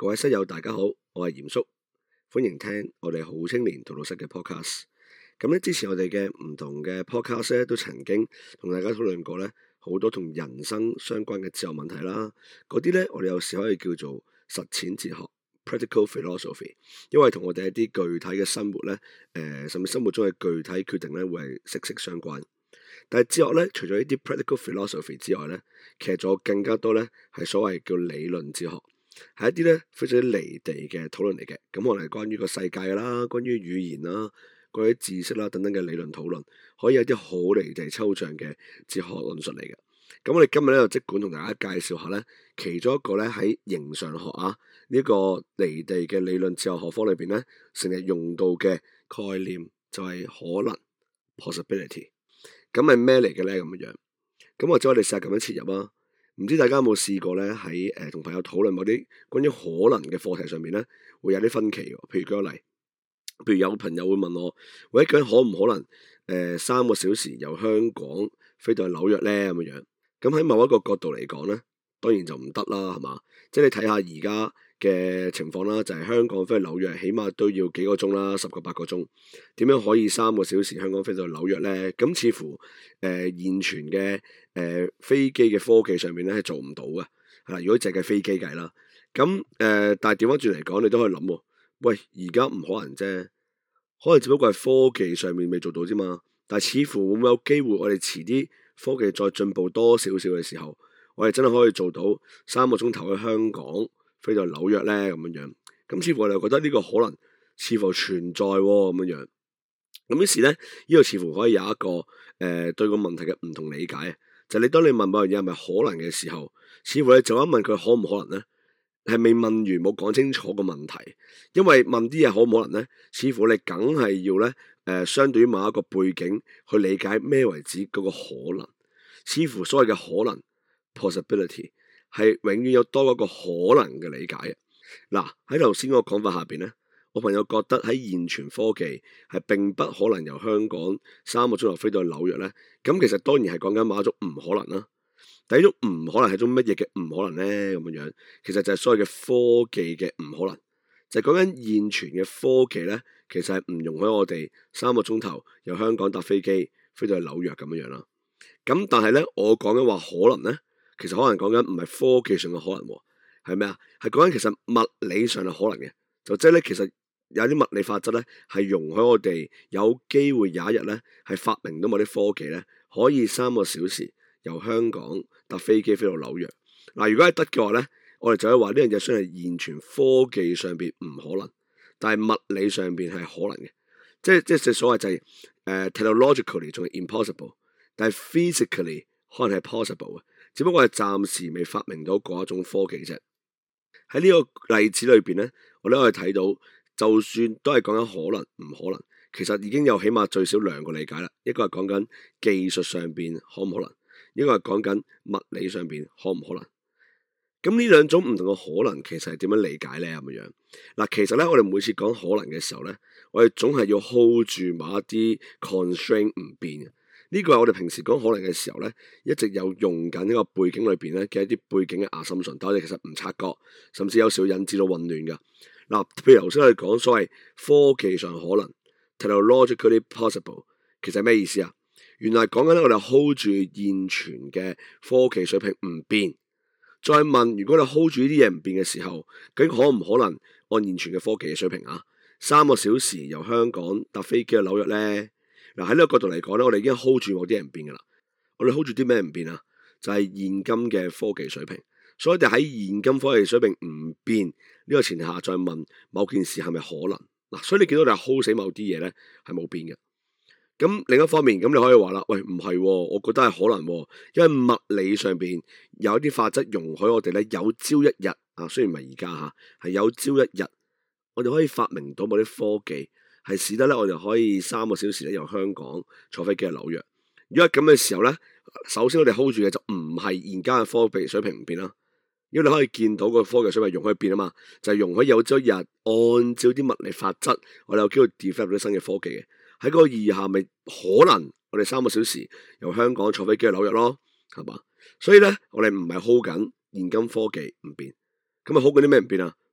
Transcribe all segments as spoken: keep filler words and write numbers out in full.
各位室友大家好，我係嚴叔，歡迎聽我哋好青年荼毒室嘅 podcast。咁咧，之前我哋嘅唔同嘅 podcast 咧，都曾經同大家討論過咧好多同人生相關嘅哲學問題啦。嗰啲咧，我哋有時可以叫做實踐哲學 （practical philosophy），因為同我哋一啲具體嘅生活咧，誒、呃，甚至生活中嘅具體決定咧，會係息息相關。但係哲學咧，除咗呢啲 practical philosophy 之外咧，其實仲有更加多咧，係所謂叫理論哲學。係一啲咧非常之離地嘅討論嚟嘅，咁可能係關於個世界啦，關於語言啦，關於知識啦等等嘅理論討論，可以有啲好離地抽象嘅哲學論述嚟嘅。咁我哋今日咧就即管同大家介紹下咧，其中一個咧喺形上學啊呢、這個離地嘅理論哲學學科裏邊咧，成日用到嘅概念就係可能 possibility。咁係咩嚟嘅咧？咁樣樣，咁或者我哋試下咁樣切入啊。唔知大家有冇試過咧喺誒同朋友討論某啲關於可能嘅課題上面咧，會有啲分歧喎。譬如舉個例，譬如有朋友會問我，喂，究竟可唔可能誒、呃、三個小時由香港飛到去紐約咧咁樣樣？咁喺某一個角度嚟講咧，當然就唔得啦，係嘛？即係你睇下而家嘅情況啦，就係、是、香港飛去紐約，起碼都要幾個鐘啦，十個八個鐘。點樣可以三個小時香港飛到去紐約咧？咁似乎誒、呃、現存嘅誒、呃、飛機嘅科技上面咧係做唔到嘅，係啦。如果淨係飛機計啦，咁誒、呃，但係調翻轉嚟講，你都可以諗喎。喂，而家唔可能啫，可能只不過係科技上面未做到啫嘛。但係似乎會唔會有機會，我哋遲啲科技再進步多少少嘅時候，我哋真係可以做到三個鐘頭去香港飛到紐約咧咁樣樣，咁似乎我哋覺得呢個可能似乎存在喎咁樣樣，咁於是咧呢、呢個似乎可以有一個誒、呃、對個問題嘅唔同理解，就係、你當你問某樣嘢係咪可能嘅時候，似乎你就一問佢可唔可能咧，係未問完冇講清楚個問題，因為問啲嘢可唔可能咧，似乎你梗係要咧誒、呃、相對於某一個背景去理解咩為止嗰個可能，似乎所謂嘅可能 possibility。係永遠有多一個可能嘅理解嘅。嗱，喺頭先嗰個講法下邊咧，我朋友覺得喺現存科技係並不可能由香港三個鐘頭飛到去紐約咧。咁其實當然係講緊某一種唔可能啦。第一種唔可能係種乜嘢嘅唔可能咧？咁樣樣其實就係所謂嘅科技嘅唔可能，就係講緊現存嘅科技咧，其實係唔容許我哋三個鐘頭由香港搭飛機飛到去紐約咁樣樣啦。咁但係咧，我講緊話可能咧。其實可能講緊唔係科技上嘅可能，係咩啊？係講緊其實物理上嘅可能嘅，就即係咧，其實有啲物理法則咧，係容許我哋有機會有一日咧，係發明到某啲科技咧，可以三個小時由香港搭飛機飛到紐約。嗱，如果係得嘅話咧，我哋就可以話呢樣嘢雖然係現存科技上邊唔可能，但係物理上邊係可能嘅，即係即係所謂就係、是、誒、uh, technologically 仲係 impossible， 但係 physically 可能係 possible 嘅。只不過係暫時未發明到嗰一種科技啫。喺呢個例子裏邊咧，我哋可以睇到，就算都係講緊可能唔可能，其實已經有起碼最少兩個理解啦。一個係講緊技術上邊可唔可能，一個係講緊物理上邊可唔可能。咁呢兩種唔同嘅可能，其實係點樣理解咧？咁樣嗱，其實咧，我哋每次講可能嘅時候咧，我哋總係要 hold 住某一啲 constraint 唔變嘅。呢個係我哋平時講可能嘅時候咧，一直有用緊呢個背景裏邊咧嘅一啲背景嘅 assumption，但我哋其實唔察覺，甚至有時會引致到混亂㗎。嗱，譬如頭先我哋講所謂科技上可能 technologically possible， 其實係咩意思啊？原來講緊咧，我哋 hold 住現存嘅科技水平唔變，再問如果你 hold 住呢啲嘢唔變嘅時候，究竟可唔可能按現存嘅科技嘅水平啊，三個小時由香港搭飛機去紐約咧？嗱，喺呢個角度嚟講咧，我哋已經 hold 住某啲嘢唔變噶啦。我哋 hold 住啲咩唔變啊？就係、是、現今嘅科技水平。所以我哋喺現今科技水平唔變呢個前提下，再問某件事係咪可能？嗱，所以你見到你係 hold 死某啲嘢咧，係冇變嘅。咁另一方面，咁你可以話啦，喂，唔係、哦，我覺得係可能、哦，因為物理上邊有啲法則容許我哋咧，有朝一日啊，雖然唔係而家吓，係有朝一日，我哋可以發明到某啲科技。係使得咧，我哋可以三個小時咧由香港坐飛機去紐約。如果係咁嘅時候咧，首先我哋 hold 住嘅就唔係現間嘅科技水平唔變啦。因為你可以見到個科技水平容許變啊嘛，就係、是、容許有朝一日按照啲物理法則，我哋有機會 develop 啲新嘅科技嘅。喺嗰個意義下，咪可能我哋三個小時由香港坐飛機去紐約咯，係嘛？所以咧，我哋唔係 hold 緊現今科技唔變，咁啊 hold 緊啲咩唔變啊？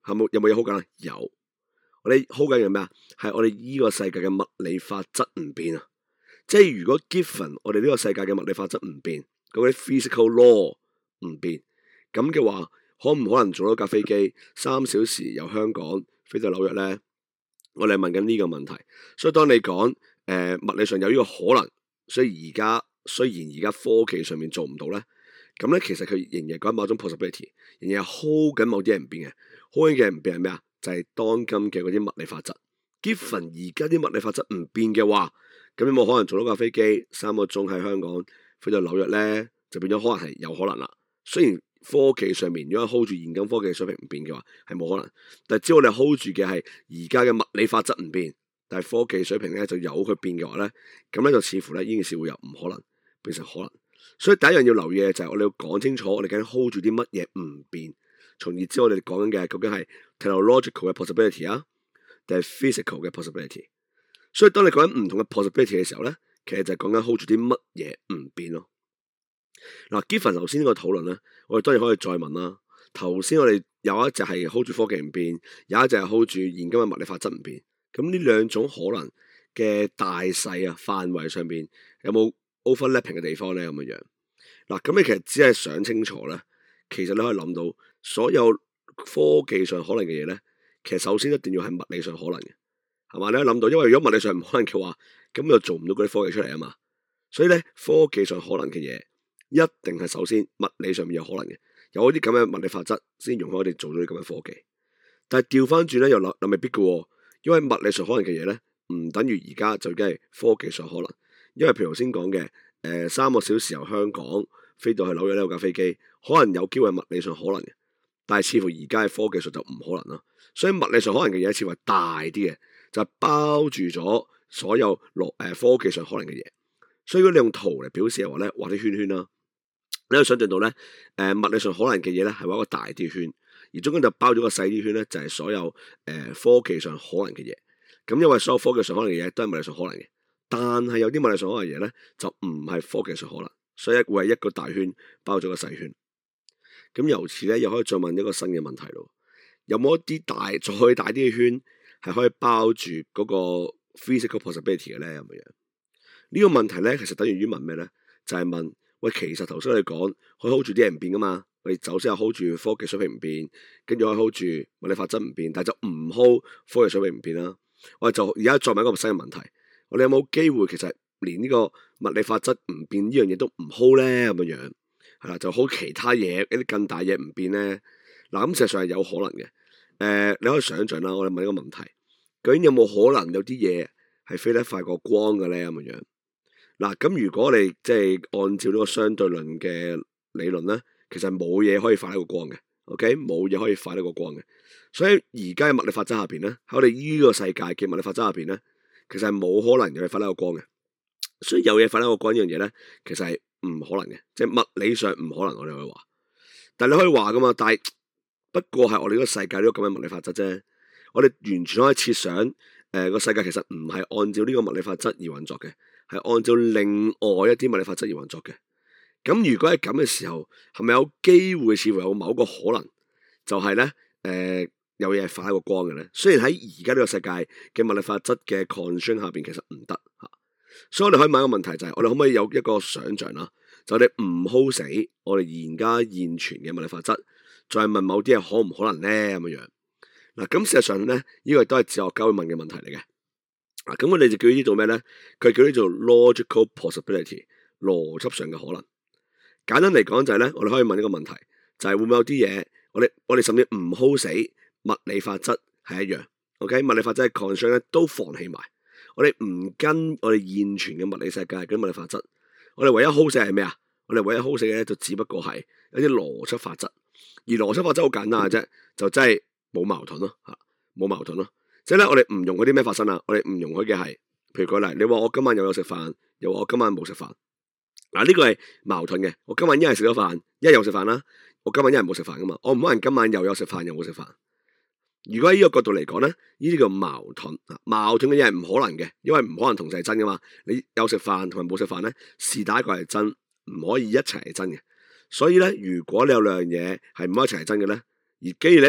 係冇有冇嘢 hold 緊啊？有，我哋 hold 緊嘅咩啊？係我哋依個世界嘅物理法則唔變啊！即係如果 given 我哋呢個世界嘅物理法則唔變，嗰啲 physical law 唔變，咁嘅話，可唔可能做到架飛機三小時由香港飛到紐約咧？我哋問緊呢個問題。所以當你講誒、呃、物理上有呢個可能，所以而家雖然而家科技上面做唔到咧，咁咧其實佢仍然講某種 possibility，仍然係 hold 緊某啲嘢唔變嘅。hold 緊嘅唔變係咩啊？就係、是、當今嘅嗰啲物理法則。given 而家啲物理法則唔變嘅話，咁有冇可能做到架飛機三個鐘喺香港飛到紐約咧？就變咗可能係有可能啦。雖然科技上面如果 hold 住現今科技水平唔變嘅話，係冇可能。但係只要我哋 hold 住嘅係而家嘅物理法則唔變，但係科技水平咧就有佢變嘅話咧，咁咧就似乎咧呢件事會由唔可能變成可能。所以第一樣要留意嘅就係我哋要講清楚我哋究竟 hold 住啲乜嘢唔變，從而知我哋講緊嘅究竟係 technological 嘅 possibility 啊，定係 physical 嘅 possibility。所以當你講緊唔同嘅 possibility 嘅時候咧，其實就係講緊 hold 住啲乜嘢唔變咯。嗱，given頭先呢個討論咧，我哋當然可以再問啦。頭先我哋有一隻係 hold 住科技唔變，有一隻係 hold 住現今嘅物理法則唔變。咁呢兩種可能嘅大細啊範圍上邊有冇 overlapping 嘅地方咧？咁樣樣嗱，咁你其實只係想清楚咧，其實你可以諗到所有科技上可能嘅嘢咧，其實首先一定要係物理上可能嘅，係嘛？你可以諗到，因為如果物理上唔可能嘅話，咁就做唔到嗰啲科技出嚟啊嘛。所以咧，科技上可能嘅嘢。一定係首先物理上面有可能嘅，有啲咁嘅物理法則先容許我哋做到啲咁嘅科技。但係調翻轉咧，又諗又未必嘅，因為物理上可能嘅嘢咧，唔等於而家就已經係科技上可能。因為譬如頭先講嘅，誒、呃、三個小時由香港飛到去紐約呢架飛機，可能有機會物理上可能嘅，但係似乎而家嘅科技上就唔可能啦。所以物理上可能嘅嘢似乎係大啲嘅，就係、包住咗所有落誒科技上可能嘅嘢。所以如果你用圖嚟表示嘅話咧，畫啲圈圈啦。你可以想象到咧，誒、呃、物理上可能嘅嘢咧係畫一個大啲圈，而中間就包咗個細啲圈咧，就係、是、所有誒、呃、科技上可能嘅嘢。咁因為所有科技上可能嘅嘢都係物理上可能嘅，但係有啲物理上可能嘅嘢咧就唔係科技上可能，所以會係一個大圈包咗個細圈。咁由此咧又可以再問一個新嘅問題咯，有冇一啲大再大啲嘅圈係可以包住嗰個 physical possibility 嘅咧？咁樣呢個問題咧其實等於於問咩咧？就係、是、問。喂，其實頭先我哋講可以 hold 住啲嘢唔變噶嘛，我哋首先係 hold 住科技水平唔變，跟住可以 hold 住物理法則唔變，但係就唔 hold 科技水平唔變啦。我哋就而家再問一個新嘅問題，我哋有冇機會其實連呢個物理法則唔變呢樣嘢都唔 hold 咧？咁樣樣係啦，就 hold 其他嘢一啲更大嘢唔變咧。嗱，咁事實上係有可能嘅。誒、呃，你可以想象啦，我哋問一個問題，究竟有冇可能有啲嘢係飛得快過光嘅咧？咁樣樣。嗱，咁如果你即係按照呢個相對論嘅理論咧，其實冇嘢可以快得過光嘅 ，OK，冇嘢可以快得過光嘅。所以而家嘅物理法則下邊咧，喺我哋呢個世界嘅物理法則下邊咧，其實係冇可能有嘢快得過光嘅。所以有嘢快得過光呢樣嘢咧，其實係唔可能嘅，即係物理上唔可能。我哋可以話，但係你可以話噶嘛，但係不過係我哋呢個世界呢個咁嘅物理法則啫。我哋完全可以設想，誒、呃、個世界其實唔係按照呢個物理法則而運作嘅。係按照另外一啲物理法則而運作嘅。咁如果係咁嘅時候，係咪有機會似乎有某個可能，就係咧誒有嘢係快過光嘅咧？雖然喺而家呢個世界嘅物理法則嘅 constraint 下邊，其實唔得嚇。所以我哋可以問一個問題，就係、是、我哋可唔可以有一個想像啦？就我哋唔 hold 死我哋而家現存嘅物理法則，再問某啲嘢可唔可能咧？咁樣樣嗱，咁事實上咧，呢、這個都係哲學家會問嘅問題嚟嘅。咁、啊、我哋就叫呢啲做咩咧？佢叫呢做 logical possibility， 邏輯上嘅可能。簡單嚟講就係咧，我哋可以問呢個問題，就係、是、會唔會有啲嘢，我哋我哋甚至唔 hold 死物理法則係一樣。OK， 物理法則嘅 constraint 咧都放棄埋，我哋唔跟我哋現存嘅物理世界嗰啲物理法則，我哋唯一 hold 死係咩啊？我哋唯一 hold 死嘅咧就只不過係一啲邏輯法則，而邏輯法則好簡單嘅啫，就真係冇矛盾咯嚇，冇矛盾咯。即係咧，我哋唔容許啲咩發生啊？我哋唔容許嘅係，譬如舉例，你話我今晚又有食飯，又話我今晚冇食飯。嗱，呢個係矛盾嘅。我今晚一係食咗飯，一係有食飯啦。我今晚一係冇食飯噶嘛。我唔可能今晚又有食飯又冇食飯。如果喺呢個角度嚟講咧，呢啲叫矛盾。矛盾嘅嘢係唔可能嘅，因為唔可能同時係真噶嘛。你有食飯同埋冇食飯咧，是但一個係真，唔可以一齊係真嘅。所以咧，如果你有兩樣嘢係唔可以一齊係真嘅咧，而既然你一齊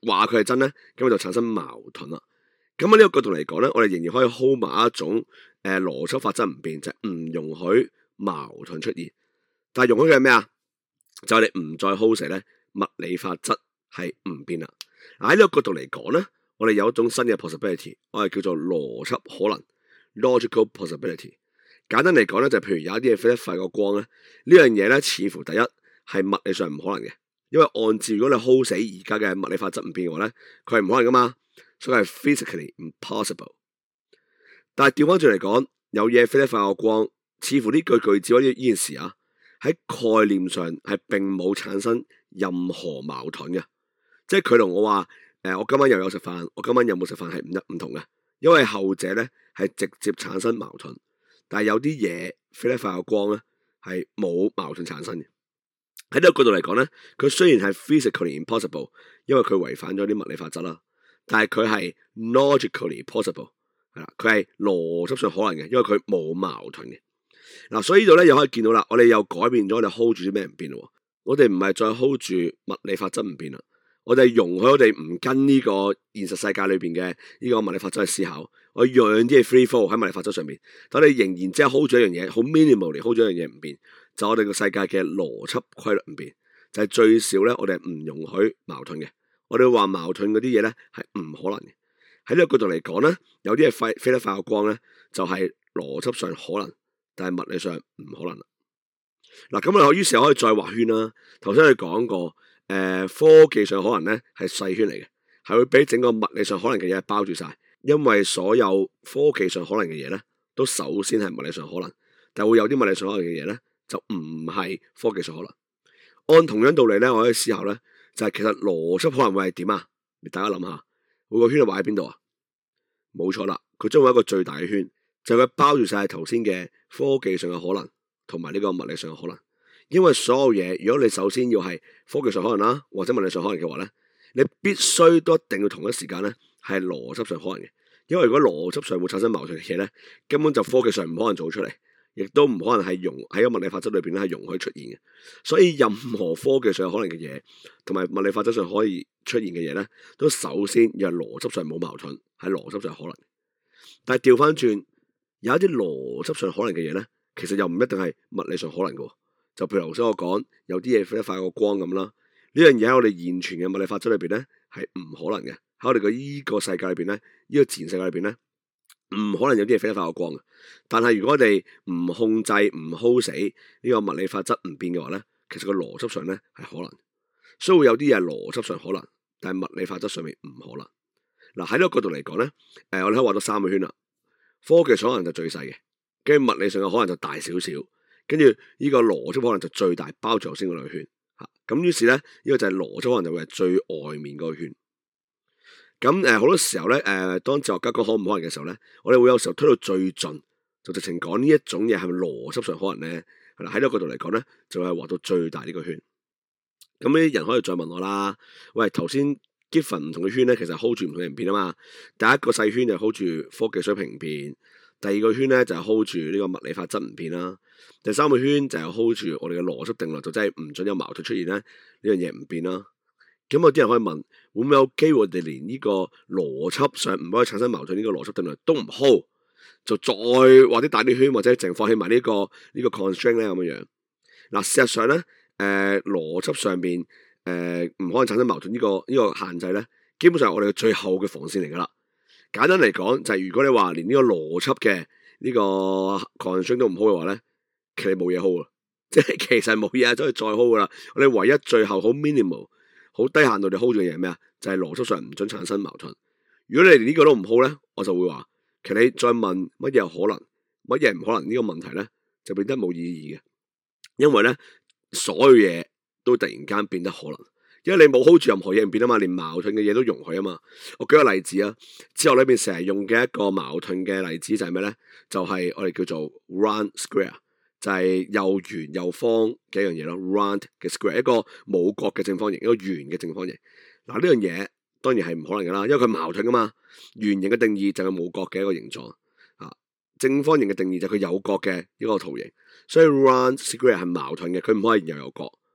話佢係真咧，咁就產生矛盾啦。咁喺呢個角度嚟講咧，我哋仍然可以 hold 埋一種誒邏輯法則唔變，就係、是、唔容許矛盾出現。但係容許嘅係咩啊？就係、是、你唔再 hold 死咧，物理法則係唔變啦。嗱喺呢個角度嚟講咧，我哋有一種新嘅 possibility， 我哋叫做邏輯可能 （logical possibility）。簡單嚟講咧，就譬如有一啲嘢飛得快過光咧，呢樣嘢咧似乎第一係物理上唔可能嘅，因為按照如果你 hold 死而家嘅物理法則唔變嘅話咧，佢係唔可能噶嘛。所以係 physically impossible。但係調翻轉嚟講，有嘢飛得快過光，似乎呢句句子或者呢件事啊，喺概念上係並冇產生任何矛盾嘅。即係佢同我話，誒、呃，我今晚又有食飯，我今晚有冇食飯係唔一唔同嘅，因為後者咧係直接產生矛盾，但係有啲嘢飛得快過光咧係冇矛盾產生嘅。喺呢個角度嚟講咧，佢雖然係 physically impossible，因為佢違反咗啲物理法則啦。但係佢係 logically possible， 係啦，佢係邏輯上可能嘅，因為佢冇矛盾嘅。嗱、啊，所以呢度咧又可以見到啦，我哋又改變咗，我哋 hold 住啲咩唔變咯？我哋唔係再 hold 住物理法則唔變啦，我哋容許我哋唔跟呢個現實世界裏邊嘅呢個物理法則去思考，我讓啲嘢 free fall 喺物理法則上面，但我哋仍然即係 hold 住一樣嘢，好 minimal 嚟 hold 住一樣嘢唔變，就我哋個世界嘅邏輯規律唔變，就係、是、最少咧，我哋係唔容許矛盾嘅。我哋話矛盾嗰啲嘢咧係唔可能嘅。喺呢個角度嚟講咧，有啲嘢飛飛得快過光咧，就係、是、邏輯上可能，但係物理上唔可能啦。嗱，咁啊，於是可以再畫圈啦。頭先我哋講過，誒、呃，科技上可能咧係細圈嚟嘅，係會俾整個物理上可能嘅嘢包住晒。因為所有科技上可能嘅嘢咧，都首先係物理上可能，但係會有啲物理上可能嘅嘢咧，就唔係科技上可能。按同樣道理咧，我可以思考咧。就係其實邏輯可能會係點啊？你大家諗下，每個圈係畫喺邊度啊？冇錯啦，佢將會一個最大嘅圈，就係、是、佢包住晒頭先嘅科技上嘅可能，同埋呢個物理上嘅可能。因為所有嘢，如果你首先要係科技上可能啦，或者物理上可能嘅話咧，你必須都一定要同一時間咧係邏輯上可能嘅。因為如果邏輯上會產生矛盾嘅嘢咧，根本就科技上唔可能做出嚟。亦都唔可能係容喺個物理法則裏邊咧係容許出現嘅，所以任何科技上可能嘅嘢，同埋物理法則上可以出現嘅嘢咧，都首先要係邏輯上冇矛盾，係邏輯上可能。但係調翻轉，有一啲邏輯上可能嘅嘢咧，其實又唔一定係物理上可能嘅。就譬如頭先我講，有啲嘢飛得快過光咁啦，呢樣嘢喺我哋現存嘅物理法則裏邊咧係唔可能嘅。喺我哋嘅依個世界裏邊咧，呢個自然世界裏邊咧。唔可能有啲嘢飛得快過光嘅，但係如果我哋唔控制唔 hold 死呢個物理法則唔變嘅話咧，其實個邏輯上咧係可能，所以會有啲嘢係邏輯上可能，但係物理法則上面唔可能。嗱，喺呢個角度嚟講咧，誒、呃、我哋可以畫到三個圈啦。科技上可能就最細嘅，跟住物理上嘅可能就大少少，跟住呢個邏輯可能就最大，包住頭先嗰兩個圈吓。咁於是咧，呢、這個就係邏輯可能就會係最外面嗰個圈。咁誒，好多時候咧，誒、呃，當哲學家講可唔可能嘅時候咧，我哋會有時候推到最盡，就直情講呢一種嘢係咪邏輯上可能咧？係啦，喺呢個角度嚟講咧，就係畫到最大呢個圈。咁呢啲人可以再問我啦。喂，頭先 given 唔同嘅圈咧，其實 hold 住唔同嘅唔變啊嘛。第一個細圈就 hold 住科技水平唔變，第二個圈咧就係 hold 住呢個物理法則唔變啦。第三個圈就係 hold 住我哋嘅邏輯定律，就真係唔准有矛盾出現咧，呢樣嘢唔變啦。咁有啲人可以問，會唔會有機會我哋連呢個邏輯上唔可以產生矛盾呢個邏輯定律都唔 hold， 就再畫啲大啲圈，或者淨放棄埋呢個呢、呢個 constraint 咧咁樣樣。嗱，事實上咧，誒、呃、邏輯上邊誒唔可能產生矛盾呢、呢個呢、呢個限制咧，基本上係我哋嘅最後嘅防線嚟噶啦。簡單嚟講，就係、是、如果你話連呢個邏輯嘅呢個 constraint 都唔 hold 嘅話咧，其實冇嘢 hold 啊，即係其實冇嘢都係再 hold 噶啦。我哋唯一最後好 minimal。好低限度地 hold 住嘅嘢係咩啊？就係、是、邏輯上唔准產生矛盾。如果你連呢個都唔 hold 咧，我就會話，其實你再問乜嘢可能，乜嘢唔可能呢個問題咧，就變得冇意義嘅。因為咧，所有嘢都突然間變得可能，因為你冇 hold 住任何嘢唔變啊嘛，連矛盾嘅嘢都容許啊嘛。我舉個例子啊，哲學裏邊成日用嘅一個矛盾嘅例子就係咩咧？就係、是、我哋叫做 round square。就係又圓又方嘅一樣嘢咯 round 嘅 square， 一個冇角嘅正方形，一個圓嘅正方形。嗱，呢樣嘢當然係唔可能噶啦，因為佢矛盾噶嘛。圓形嘅定義就係冇角嘅一個形狀，啊，正方形嘅定義就係佢有角嘅一個圖形。所以 round square 係矛盾嘅，佢唔可以又有角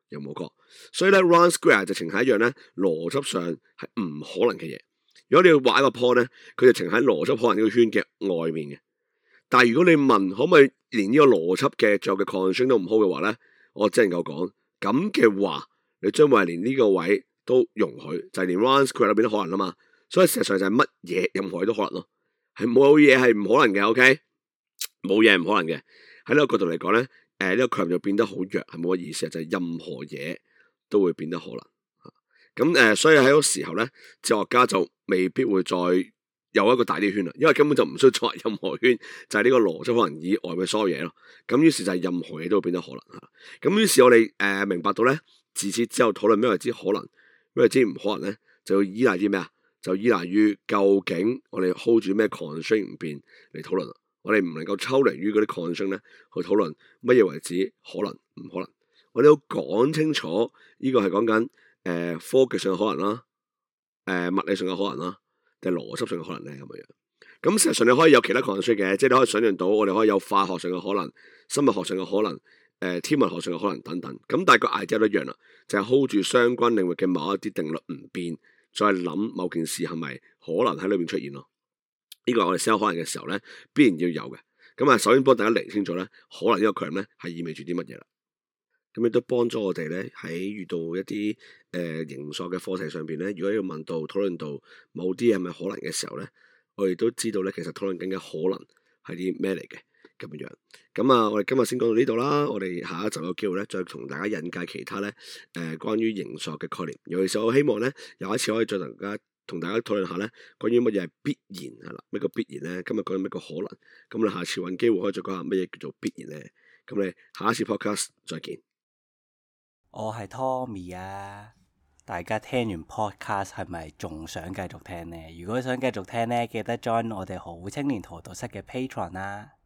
有冇過？所以咧 round square 直情係一樣咧，邏輯上係唔可能嘅嘢。如果你要畫一個 point 咧，佢就情喺邏輯可能呢個圈嘅外面嘅。但係如果你問可唔可以連呢個邏輯嘅最後嘅 constraint 都唔 hold 嘅話咧，我只能夠講咁嘅話，你將會係連呢個位都容許，就係、是、連 round square 都變得可能啦嘛。所以事實上就係乜嘢任何嘢都可能咯，係冇嘢係唔可能嘅。OK， 冇嘢唔可能嘅。喺呢個角度嚟講咧，誒、呃、呢、這個概念就變得好弱，係冇乜意思，就係、是、任何嘢都會變得可能。咁誒、呃，所以喺嗰時候咧，哲學家就未必會再有一個大啲圈啦，因為根本就唔需要作為任何圈，就係、是、呢個邏輯可能以外嘅所有嘢咯。咁於是就係任何嘢都會變得可能嚇。咁於是我哋誒、呃、明白到咧，自此之後討論咩為之可能，咩為之唔可能咧，就要依賴啲咩啊？就依賴於究竟我哋 hold 住咩 constraint 唔變嚟討論。我哋唔能夠抽離於嗰啲 constraint 咧去討論乜嘢為之可能唔可能。我哋要講清楚呢個係講緊誒科技上嘅可能啦，誒、呃、物理上嘅可能啦，定係邏輯上嘅可能咧咁樣樣。咁事實上你可以有其他 constraint 嘅，即係你可以想象到我哋可以有化學上嘅可能、生物學上嘅可能、誒、呃、天文學上嘅可能等等。咁但係個 idea 都一樣啦，就係、是、hold 住相關領域嘅某一啲定律唔變，再諗某件事係咪可能喺裏面出現咯。呢個係我哋思考可能嘅時候咧，必然要有嘅。咁啊，首先幫大家釐清楚咧，可能呢個概念咧係意味住啲乜嘢啦。咁亦都幫咗我哋咧喺遇到一啲誒形塑嘅課題上邊咧，如果要問到討論到某啲係咪可能嘅時候咧，我哋都知道咧，其實討論緊嘅可能係啲咩嚟嘅咁樣樣。咁啊，我哋今日先講到呢度啦。我哋下一集有機會咧，再同大家引介其他咧誒、呃、關於形塑嘅概念。尤其是我希望咧，有一次可以再同大家同大家討論下咧，關於乜嘢係必然係啦，咩叫必然咧？今日講緊咩叫可能，咁你下次揾機會可以再講下乜嘢叫做必然咧。咁你下一次 podcast 再見。 我係 Tommy 啊！大家聽完 podcast 係咪仲想繼續聽呢？如果想繼續聽呢，記得 join 我哋好青年荼毒室嘅 Patreon 啦。